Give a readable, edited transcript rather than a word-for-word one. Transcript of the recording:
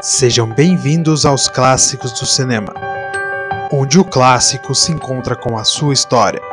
Sejam bem-vindos aos Clássicos do Cinema, onde o clássico se encontra com a sua história.